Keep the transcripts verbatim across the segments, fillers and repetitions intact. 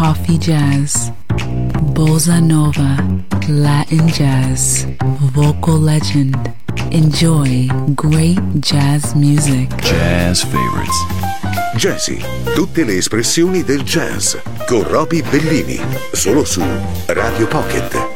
coffee jazz, bossa nova, Latin jazz, vocal legend. Enjoy great jazz music. Jazz Favorites. Jazzy, tutte le espressioni del jazz con Roby Bellini, solo su Radio Pocket.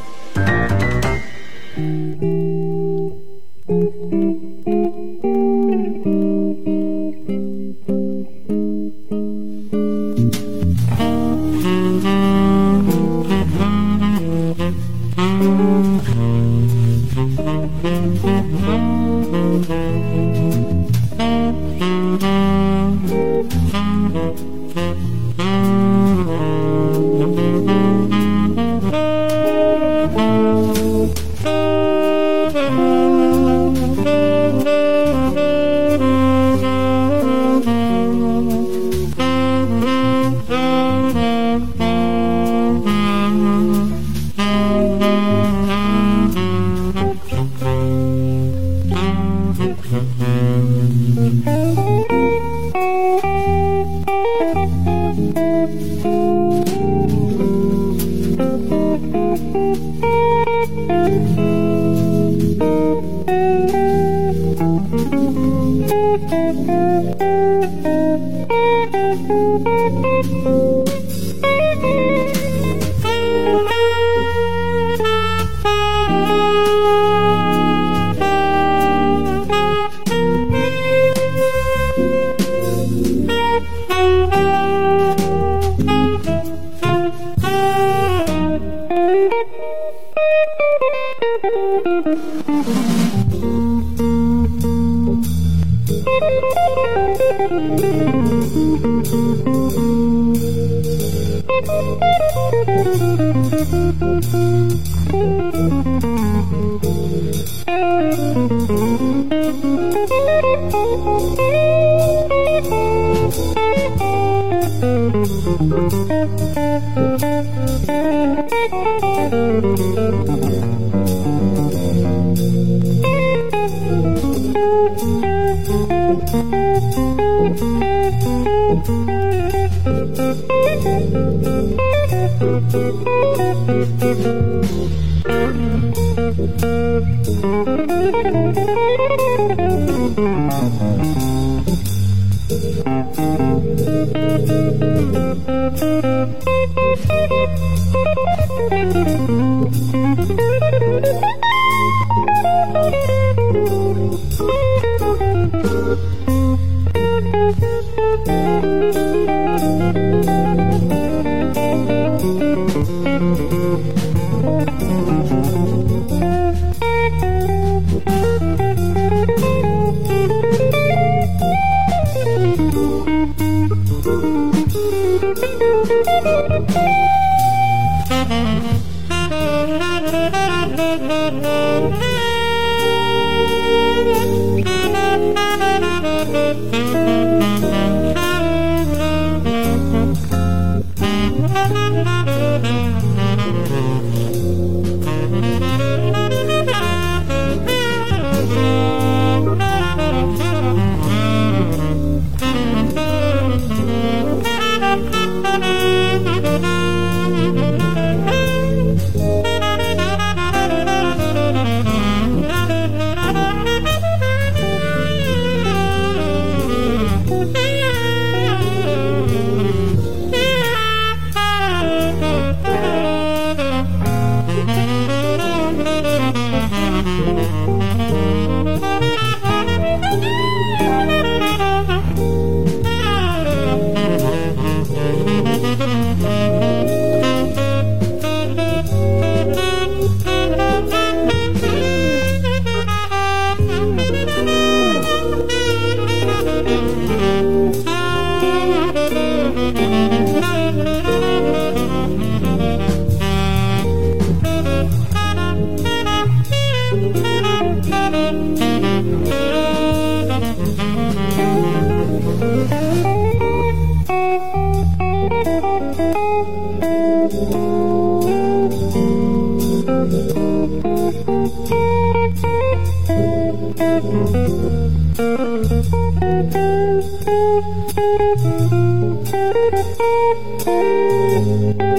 Thank you.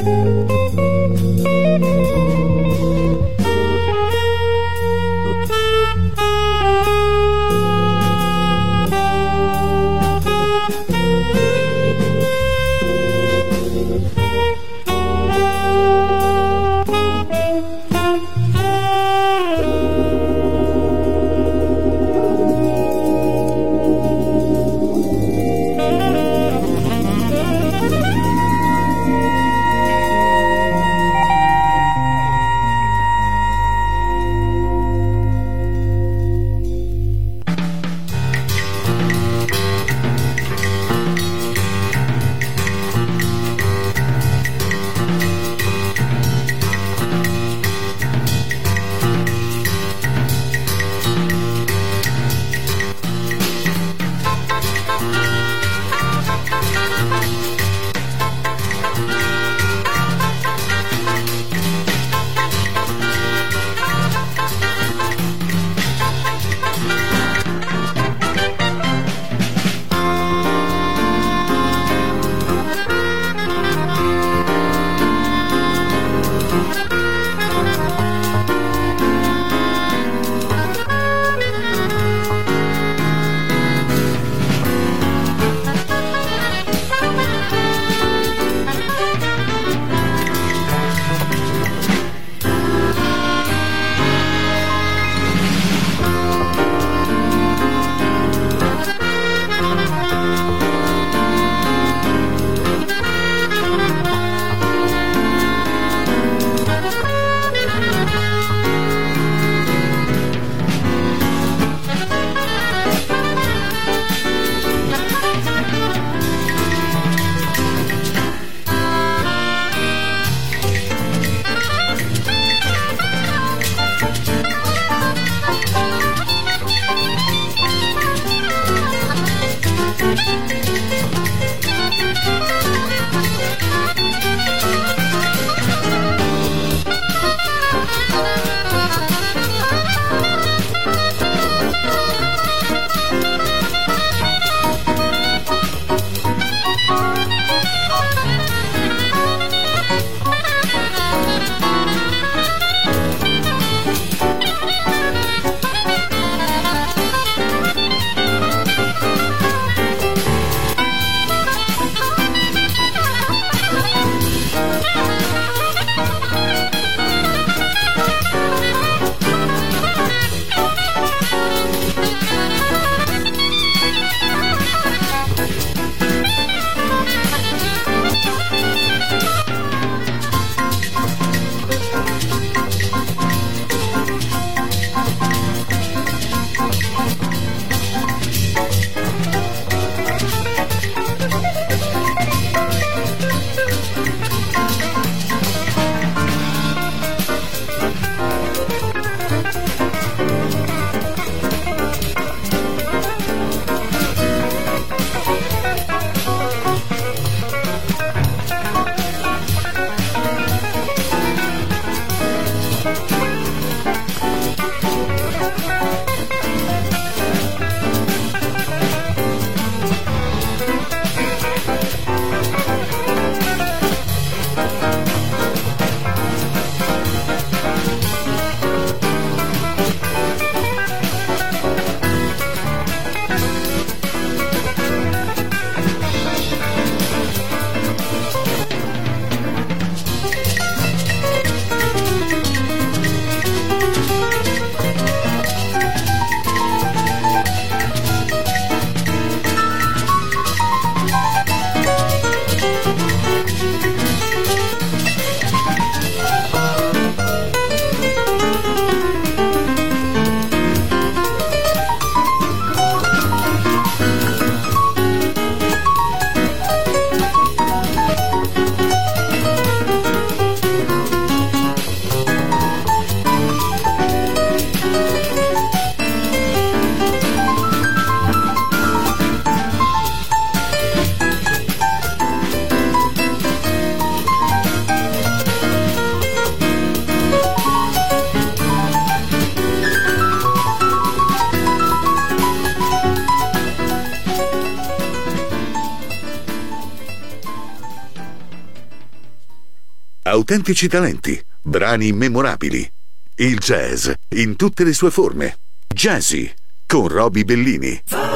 Autentici talenti, brani immemorabili. Il jazz in tutte le sue forme. Jazzy con Roby Bellini.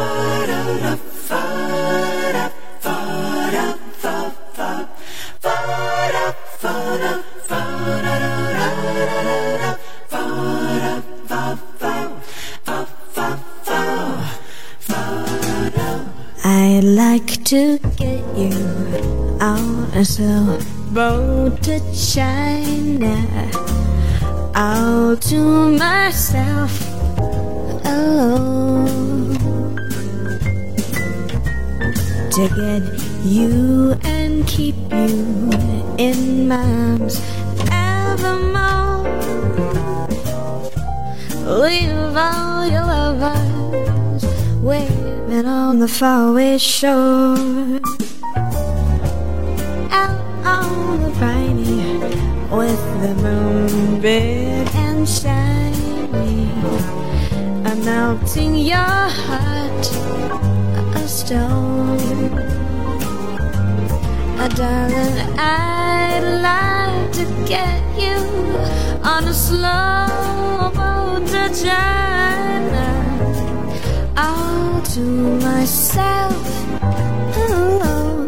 I'd like to get you on a slow boat to China, all to myself alone, to get you and keep you in my arms evermore. Leave all your lovers waiting on the faraway shore, out on the briny with the moon big and shiny, I'm melting your heart of stone. Oh, darling, I'd like to get you on a slow boat to China, all to myself alone.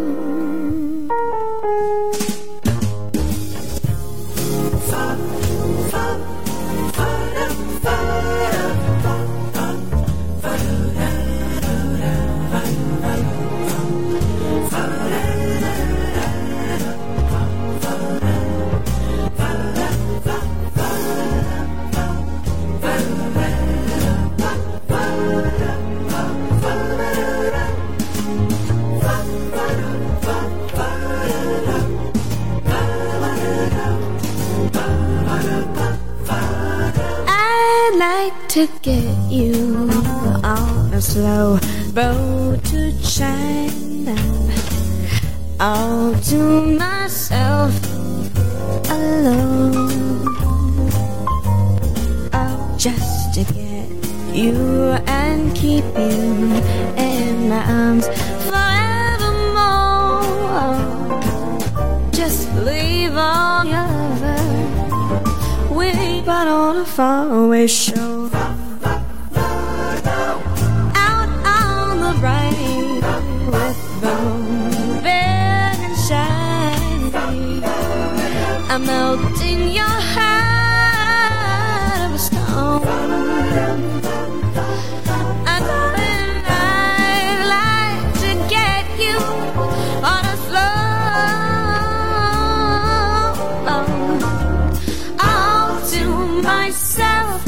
To get you on a slow boat to China, all to myself alone. Oh, just to get you and keep you in my arms forevermore. Just leave all your lovers waiting on a faraway shore. I'm melting your heart of a stone. And darling, I'd like to get you on a slow boat, all to myself,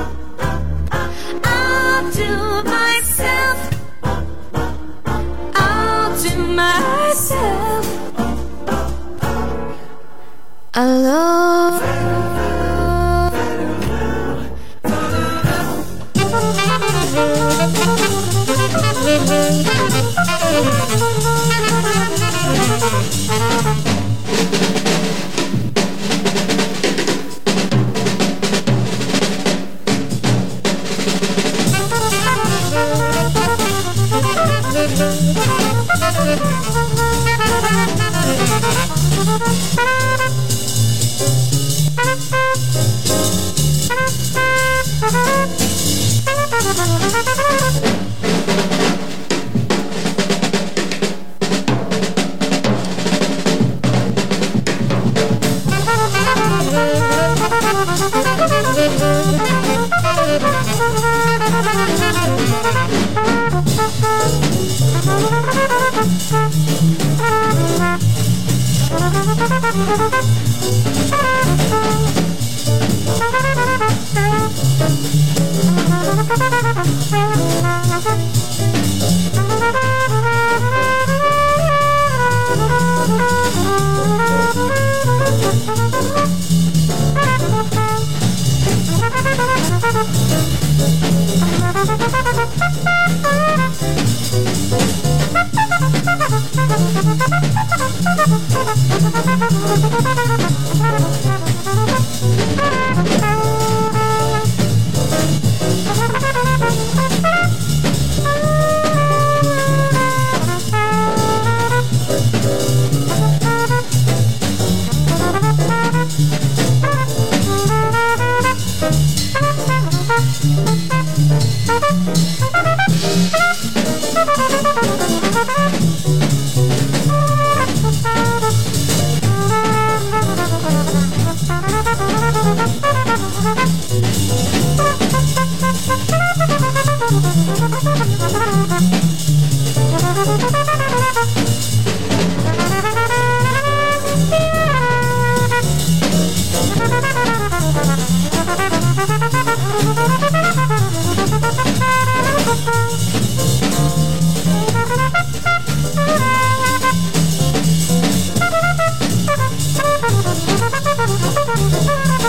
all to myself, all to myself alone.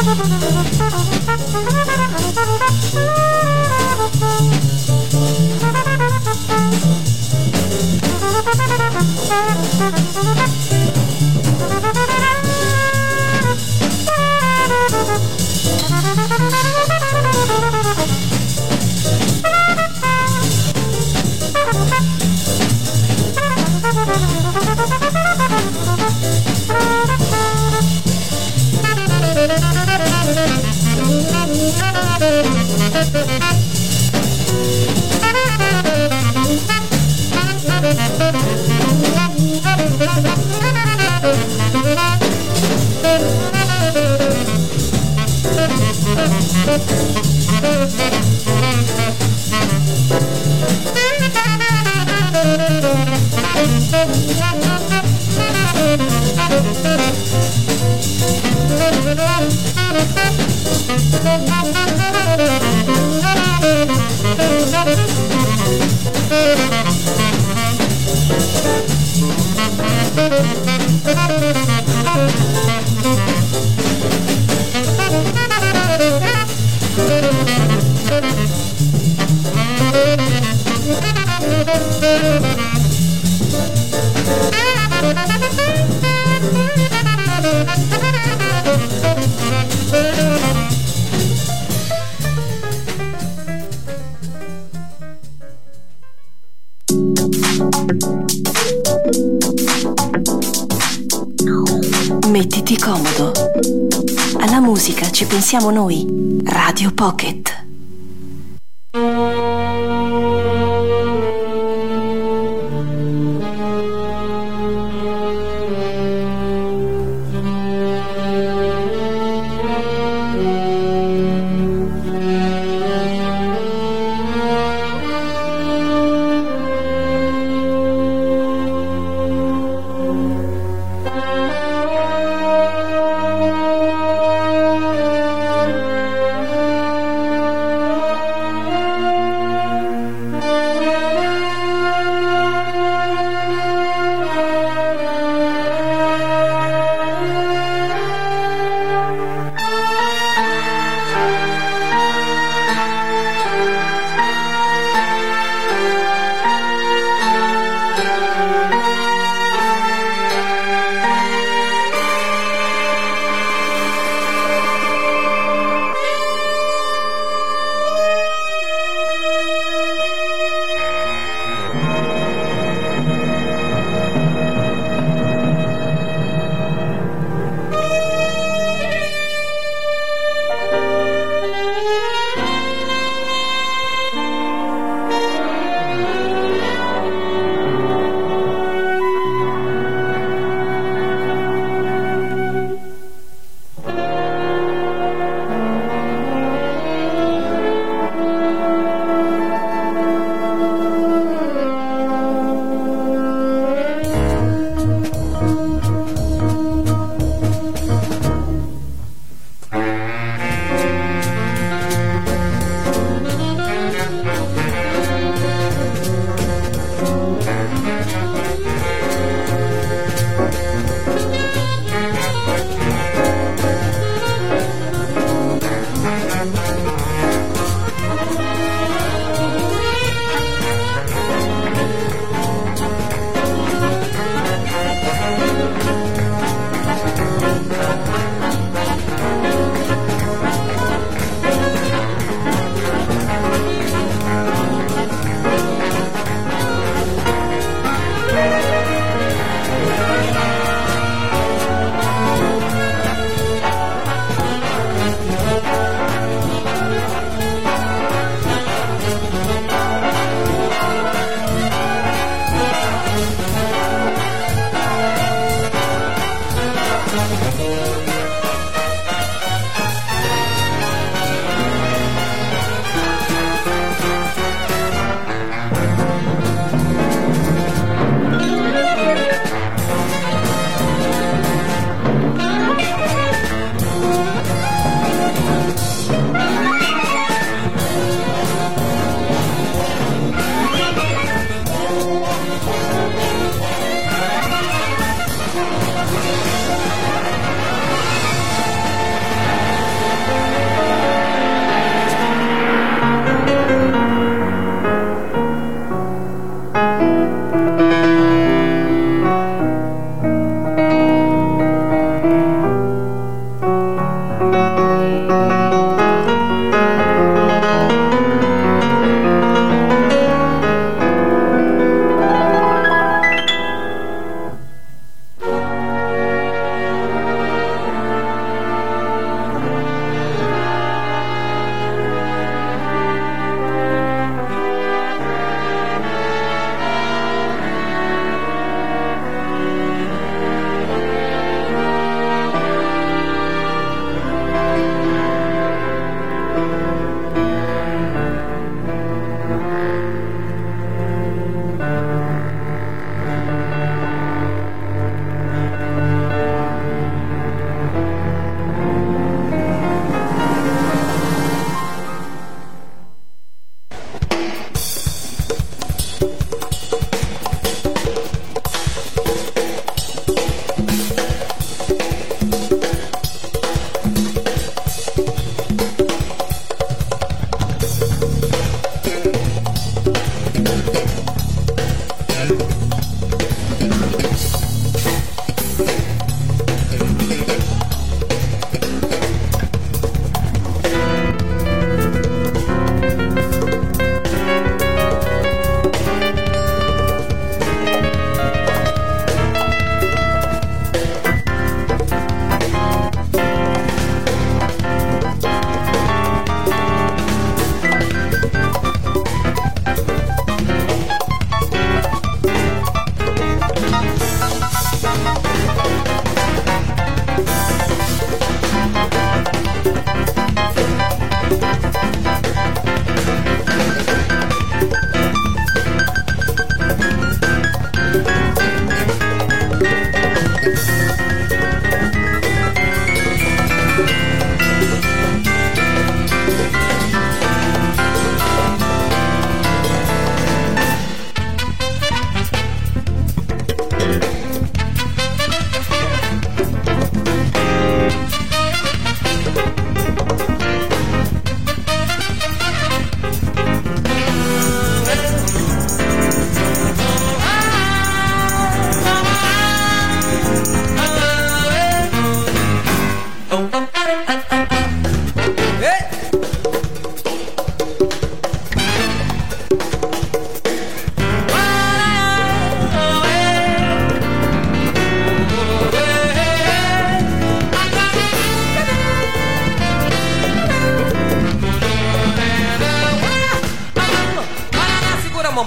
Mettiti comodo. Alla musica ci pensiamo noi. Radio Pocket.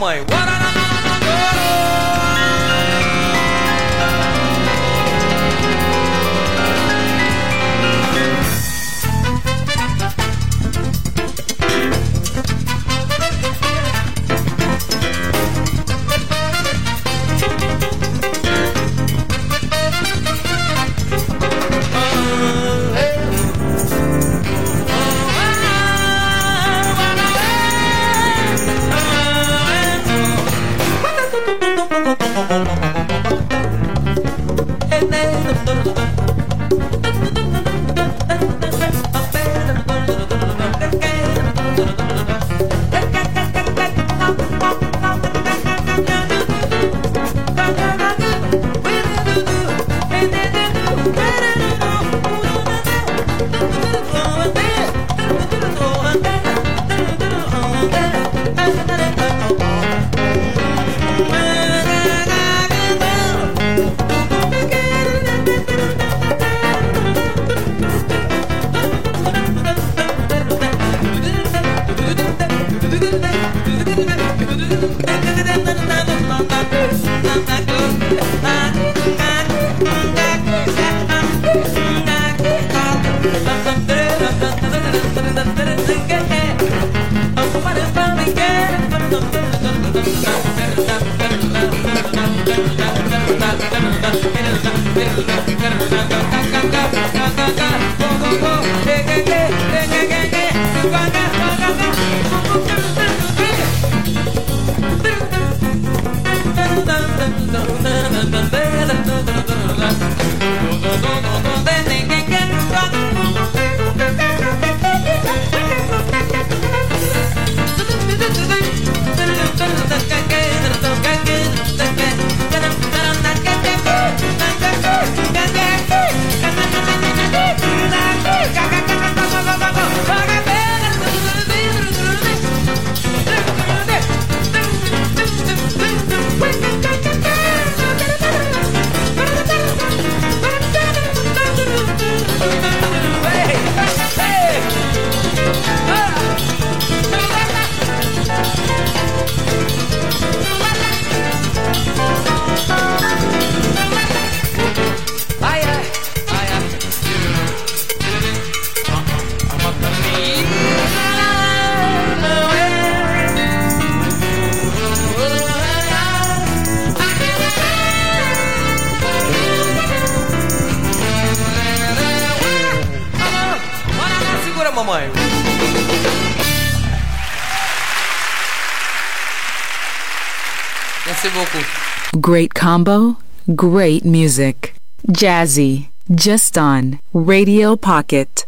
mamãe. Great combo, great music. Jazzy, just on Radio Pocket.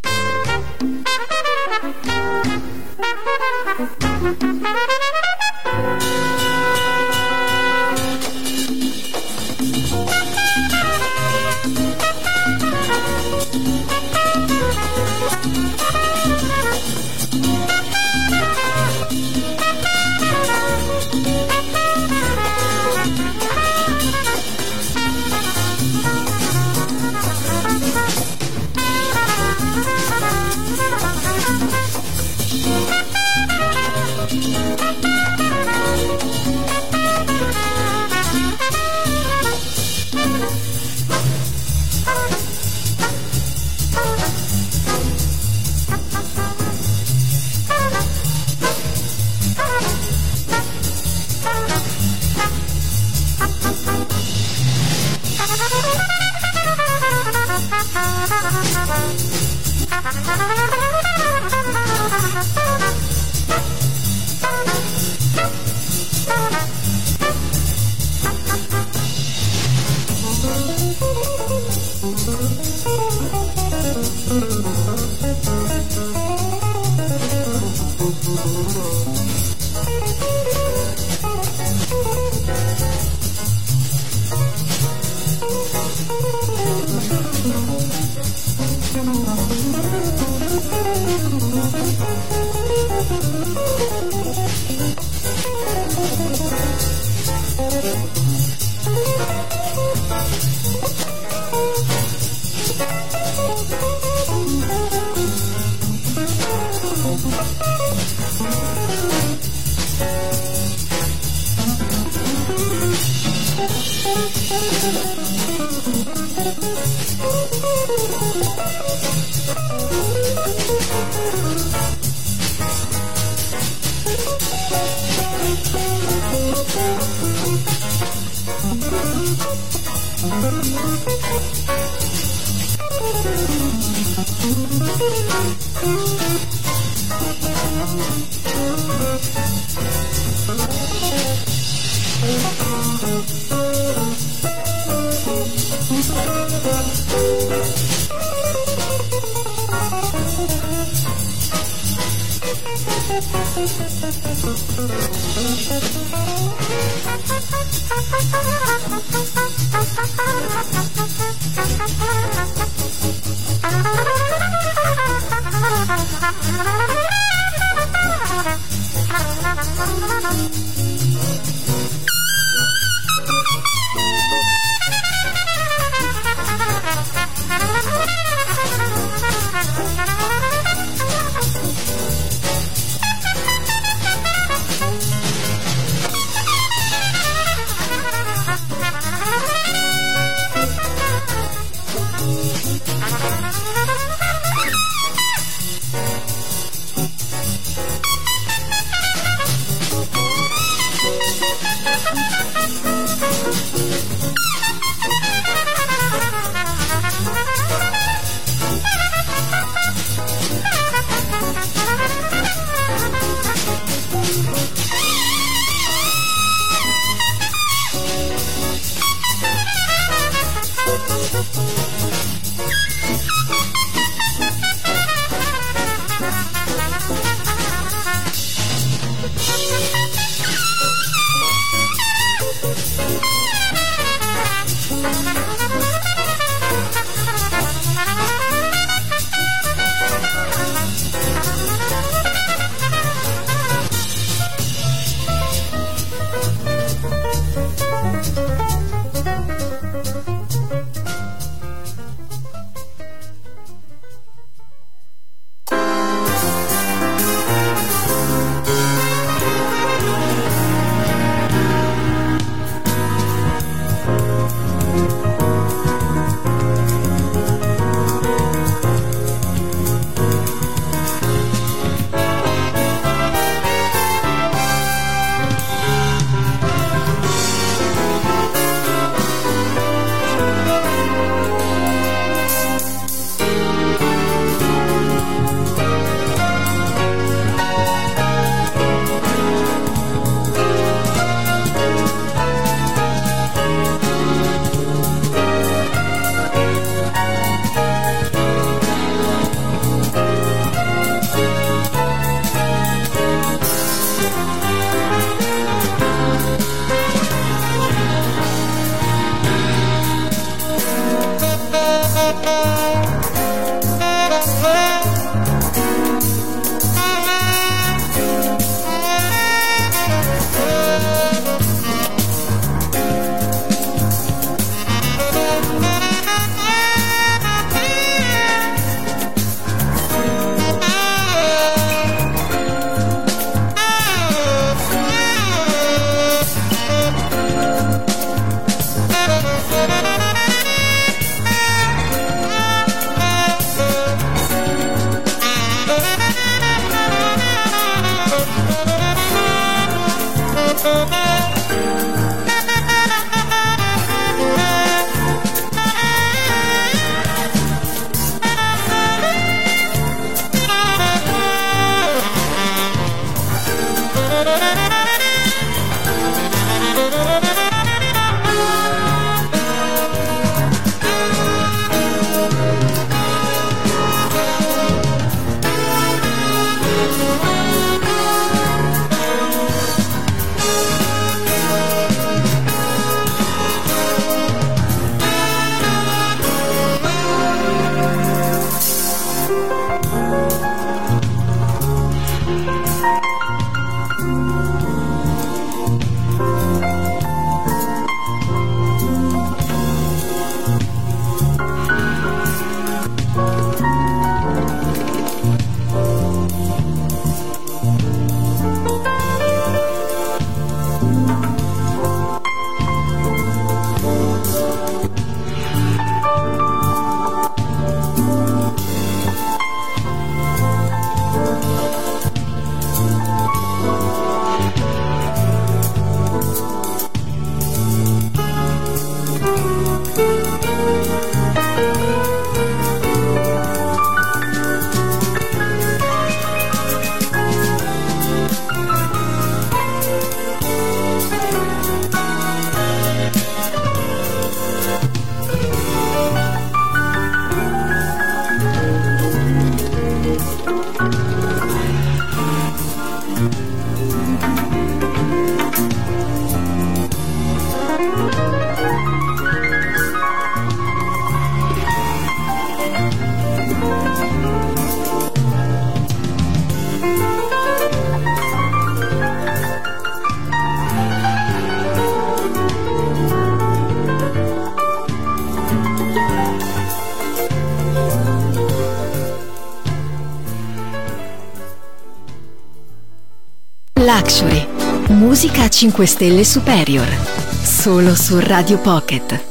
Luxury, musica a cinque stelle superior, solo su Radio Pocket.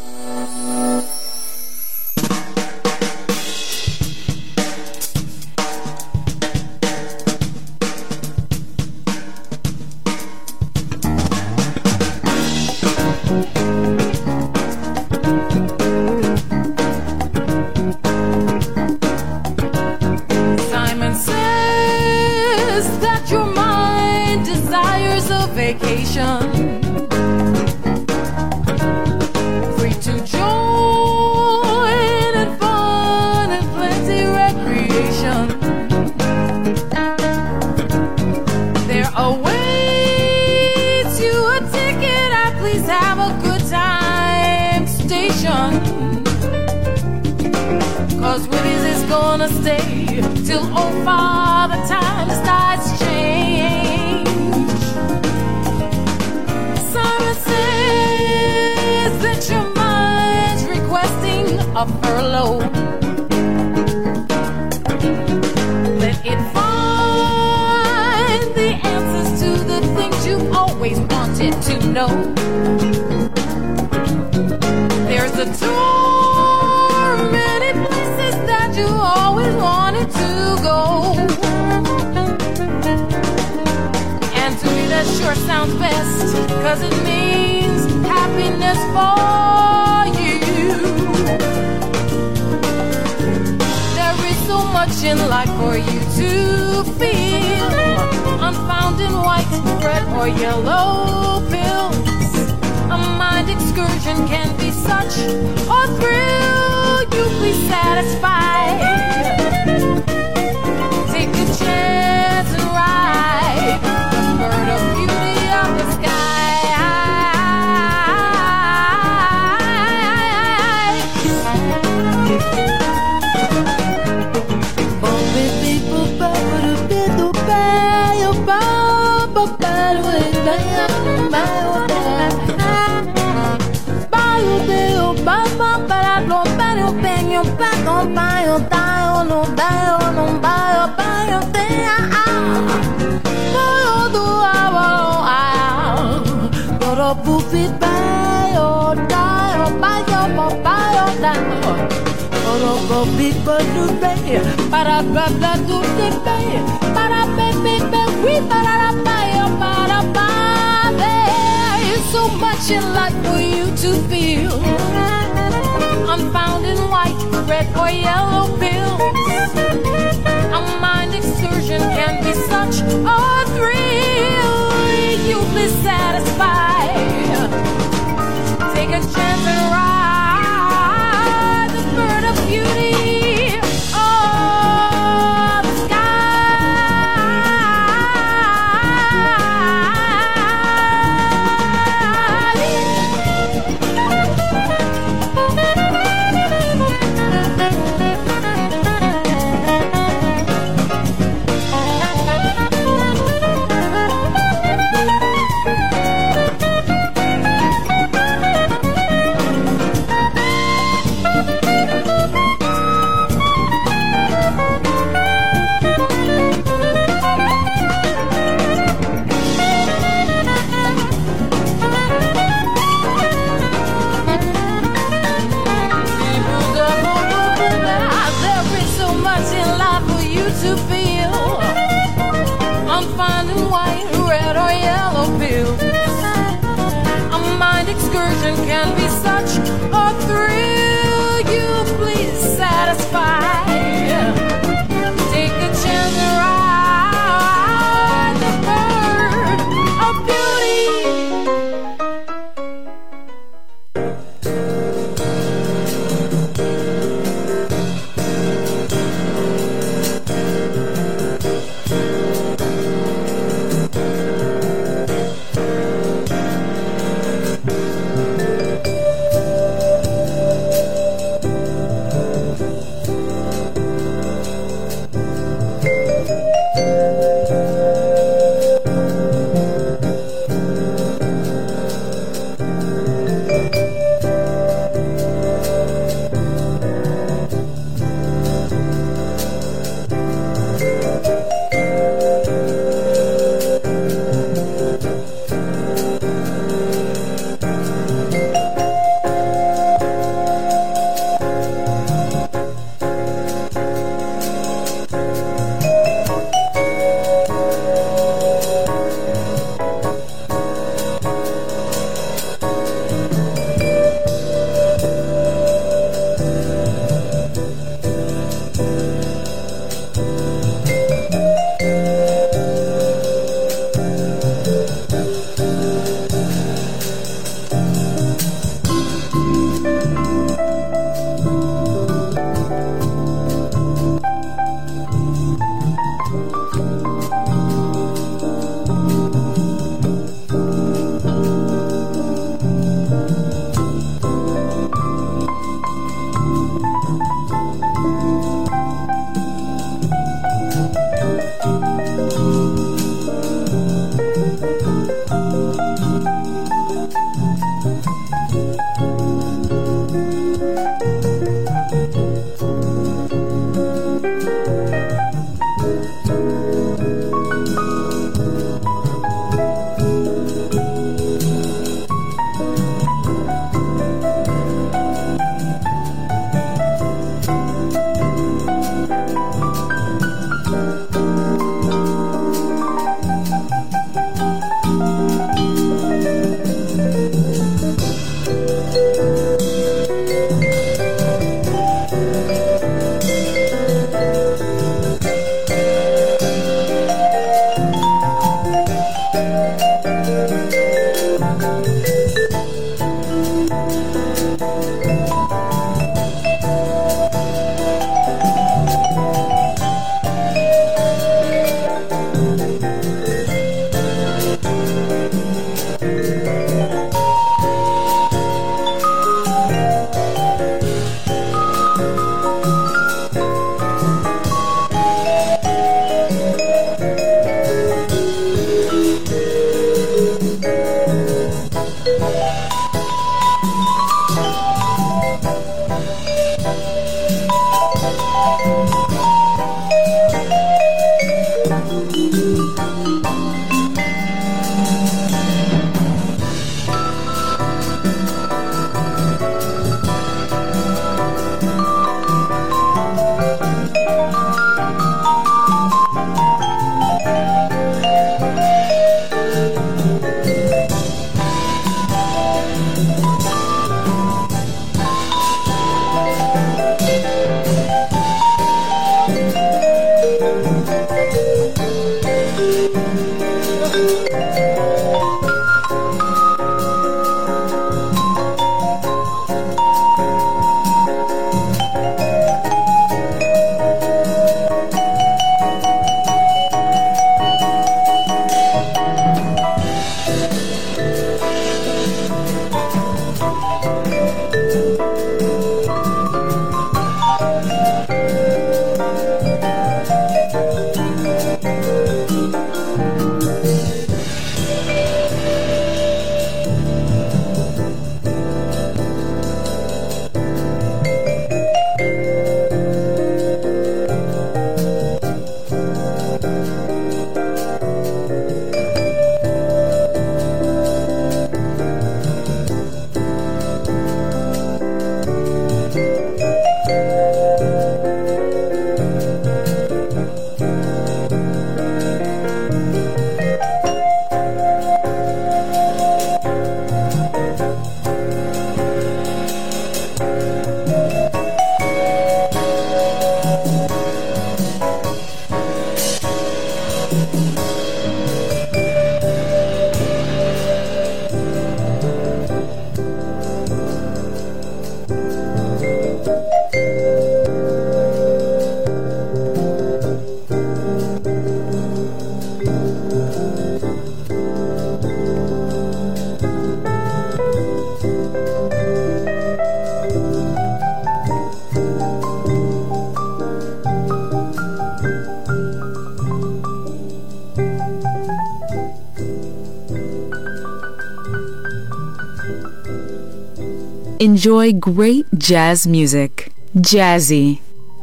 Enjoy great jazz music. Jazzy.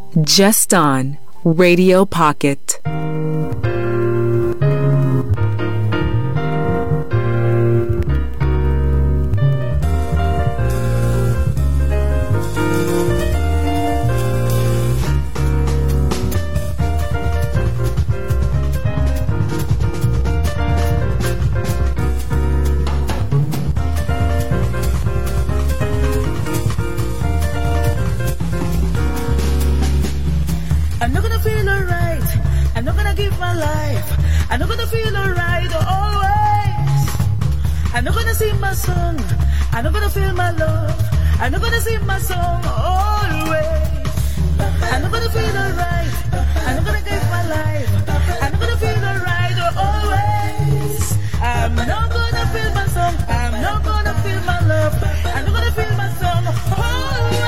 Just on Radio Pocket. I'm not gonna feel alright. I'm not gonna give my life. I'm not gonna feel alright always. I'm not gonna sing my song. I'm not gonna feel my love. I'm not gonna sing my song always. I'm not gonna feel alright. I'm not gonna give my life. I'm not gonna feel alright always. I'm not gonna feel my song. I'm not gonna feel my love. I'm not gonna feel my song always.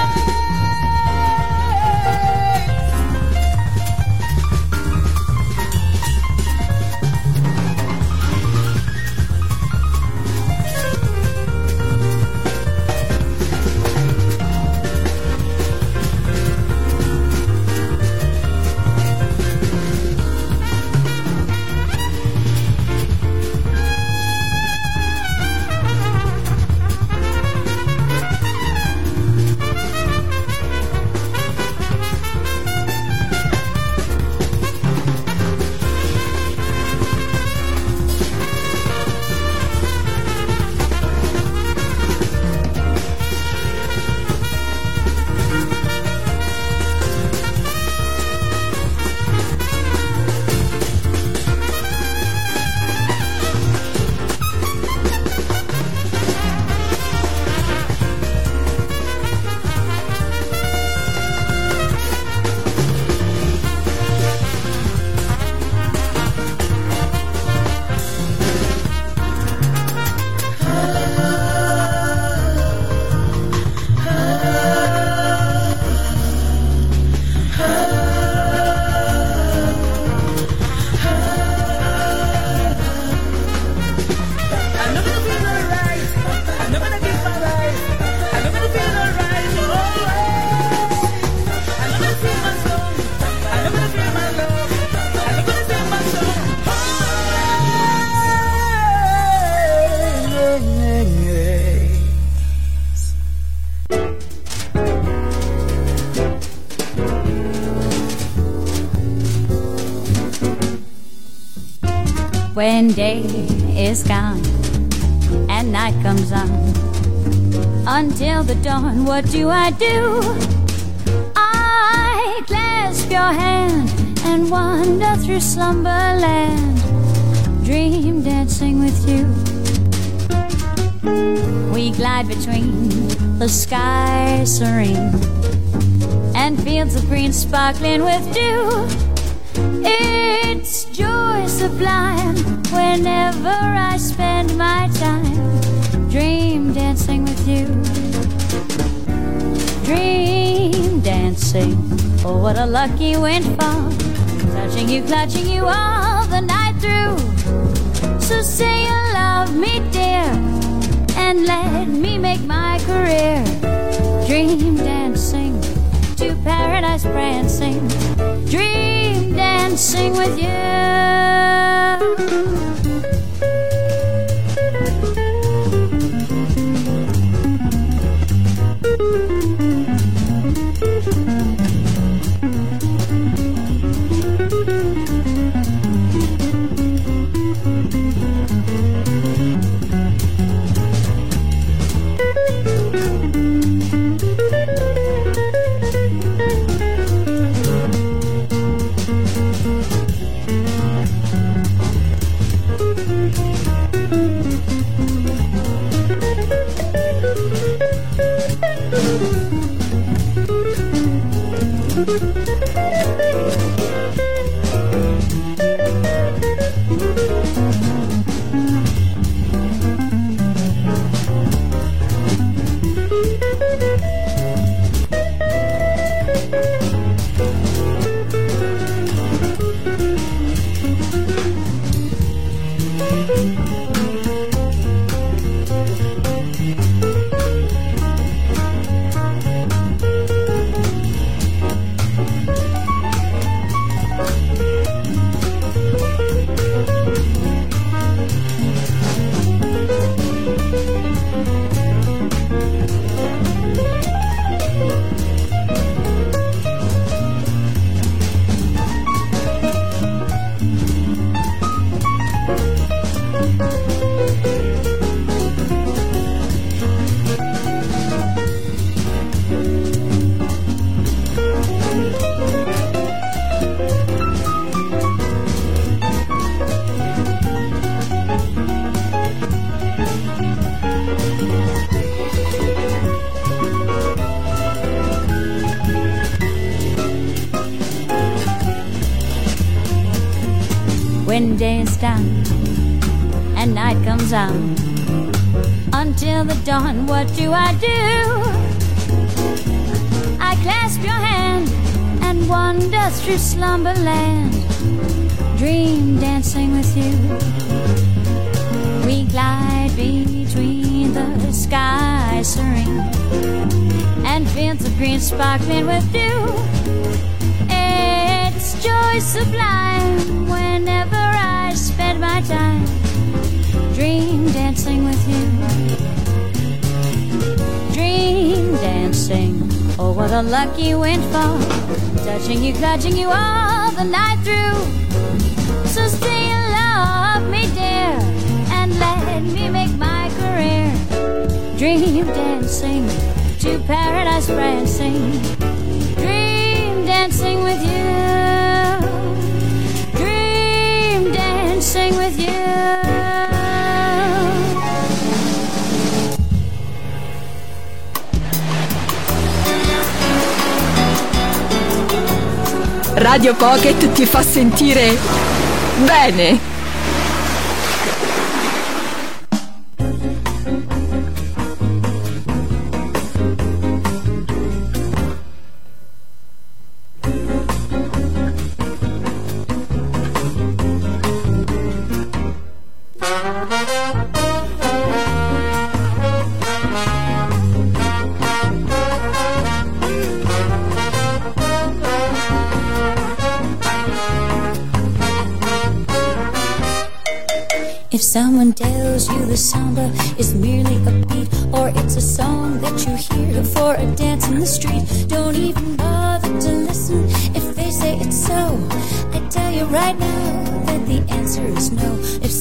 when day is gone and night comes on. Until the dawn, what do I do? I clasp your hand and wander through slumberland, dream dancing with you. We glide between the sky serene and fields of green sparkling with dew. It's joy sublime whenever I spend my time dream dancing with you. Dream dancing, oh what a lucky windfall, touching you, clutching you all the night through. So say you love me, dear, and let me make my career dream dancing to paradise prancing, dream dancing with you. When day is done and night comes on, until the dawn, what do I do? I clasp your hand and wander through slumberland, dream dancing with you. We glide between the sky serene and fields of green sparkling with dew. It's joy sublime whenever I spend my time dream dancing with you. Dream dancing, oh what a lucky windfall, touching you, clutching you all the night through. So stay and love me, dear, and let me make my career dream dancing to paradise prancing, dream dancing with you, dream dancing with you. Radio Pocket ti fa sentire bene. If someone tells you the samba is merely a beat, or it's a song that you hear for a dance in the street, don't even bother to listen if they say it's so. I tell you right now that the answer is no. If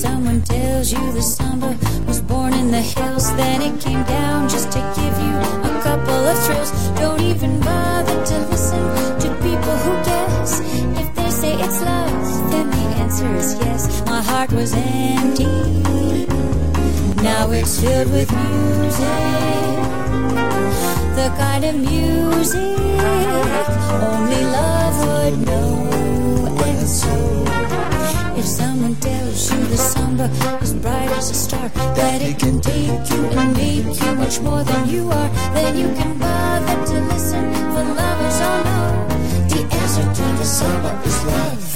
tells you the samba was born in the hills, then it came down just to give you a couple of thrills. Don't even bother to listen to people who guess. If they say it's love, then the answer is yes. My heart was empty, now it's filled with music, the kind of music only love would know. And so, if someone tells you the samba is bright as a star, that it can take you and make you much more than you are, then you can bother to listen, for lovers all know the answer to the samba is love.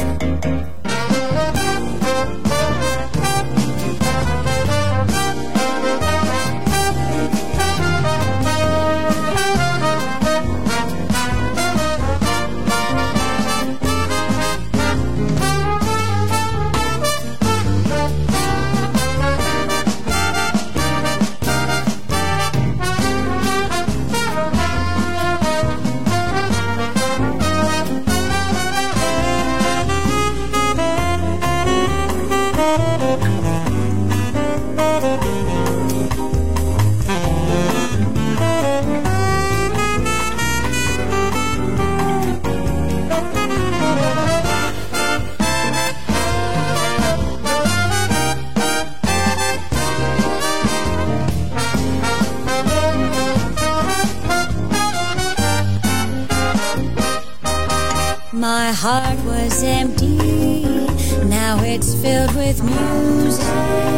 My heart was empty, now it's filled with music,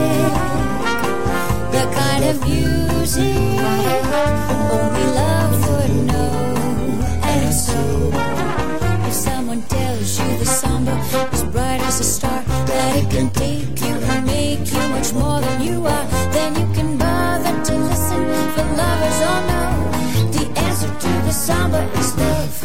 the kind of music only love would know. And so, if someone tells you the samba is bright as a star, that it can take you and make you much more than you are, then you can bother to listen, for lovers all know the answer to the samba is love.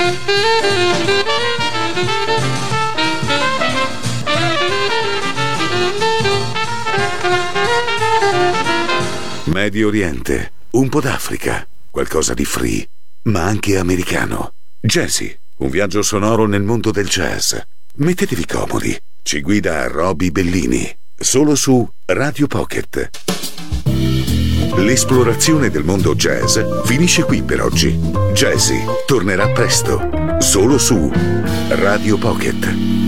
Medio Oriente, un po' d'Africa, qualcosa di free, ma anche americano. Jazzy, un viaggio sonoro nel mondo del jazz. Mettetevi comodi, ci guida Roby Bellini, solo su Radio Pocket. L'esplorazione del mondo jazz finisce qui per oggi. Jazzy tornerà presto, solo su Radio Pocket.